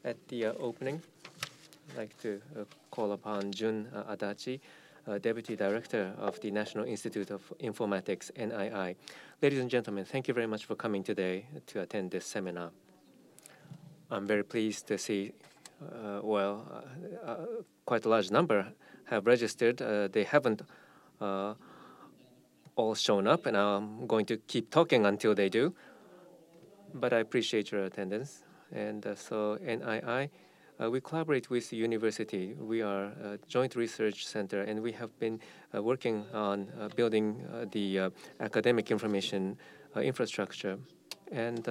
At the opening, I'd like to call upon Jun Adachi, Deputy Director of the National Institute of Informatics, NII. Ladies and gentlemen, thank you very much for coming today to attend this seminar. I'm very pleased to see, quite a large number have registered. They haven't all shown up, and I'm going to keep talking until they do. But I appreciate your attendance. And so NII, we collaborate with the university. We are a joint research center, and we have been working on building the academic information infrastructure. And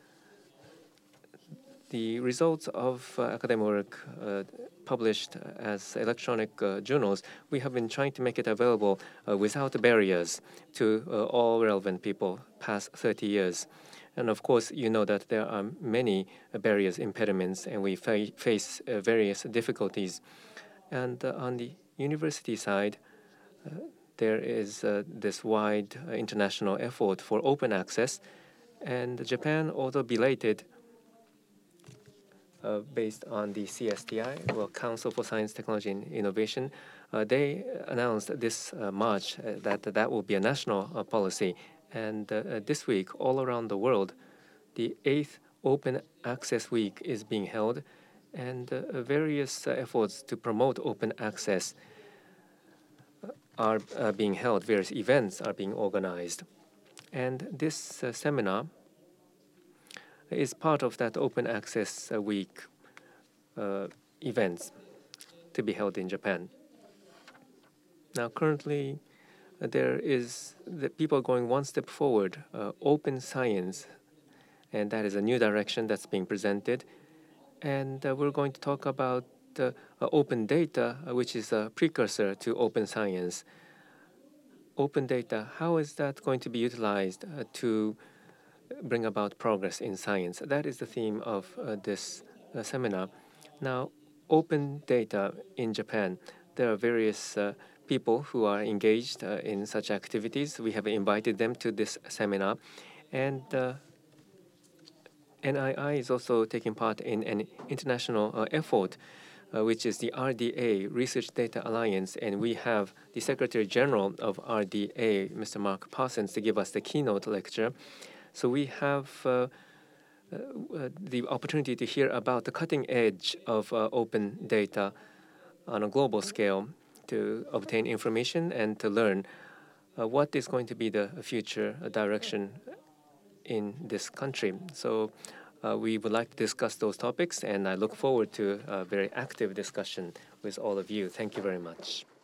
the results of academic work published as electronic journals, we have been trying to make it available without barriers to all relevant people past 30 years. And of course, you know that there are many barriers, impediments, and we face various difficulties. And on the university side, there is this wide international effort for open access. And Japan, although belated, based on the CSTI, well, Council for Science, Technology, and Innovation, they announced this March that will be a national policy. And this week, all around the world, the 8th Open Access Week is being held, and various efforts to promote open access are being held. Various events are being organized. And this seminar is part of that Open Access Week events to be held in Japan. Now, currently, there is the people going one step forward, open science, and that is a new direction that's being presented. And we're going to talk about open data, which is a precursor to open science. Open data, how is that going to be utilized to bring about progress in science? That is the theme of this seminar. Now, open data in Japan, there are various people who are engaged in such activities. We have invited them to this seminar. And NII is also taking part in an international effort, which is the RDA, Research Data Alliance. And we have the Secretary General of RDA, Mr. Mark Parsons, to give us the keynote lecture. So we have the opportunity to hear about the cutting edge of open data on a global scale to obtain information and to learn what is going to be the future direction in this country. So we would like to discuss those topics, and I look forward to a very active discussion with all of you. Thank you very much.